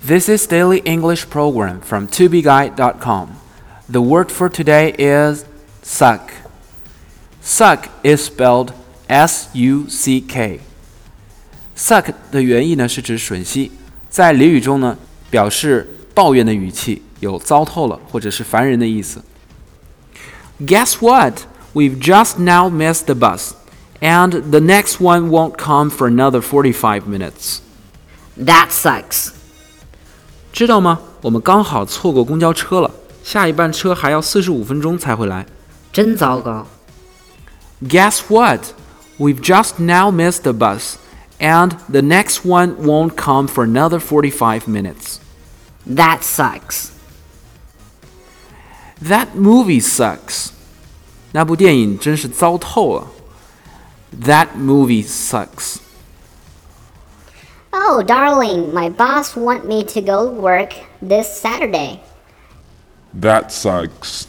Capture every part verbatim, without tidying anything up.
This is Daily English Program from to be guide dot com. The word for today is suck. Suck is spelled S U C K. Suck 的原意呢是指吮吸，在俚语中呢表示抱怨的语气，有糟透了或者是烦人的意思。Guess what? We've just now missed the bus, and the next one won't come for another forty-five minutes. That sucks. 知道吗？我们刚好错过公交车了，下一班车还要四十五分钟才会来。 真糟糕。 Guess what? We've just now missed the bus, and the next one won't come for another forty-five minutes. That sucks. That movie sucks. 那部电影真是糟透了。That movie sucks. Oh, darling, my boss want me to go work this Saturday. That sucks.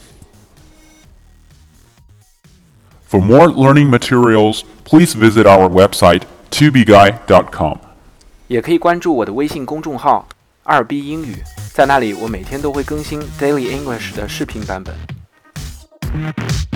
For more learning materials, please visit our website to be guide dot com. 也可以关注我的微信公众号二 B 英语，在那里我每天都会更新 Daily English 的视频版本。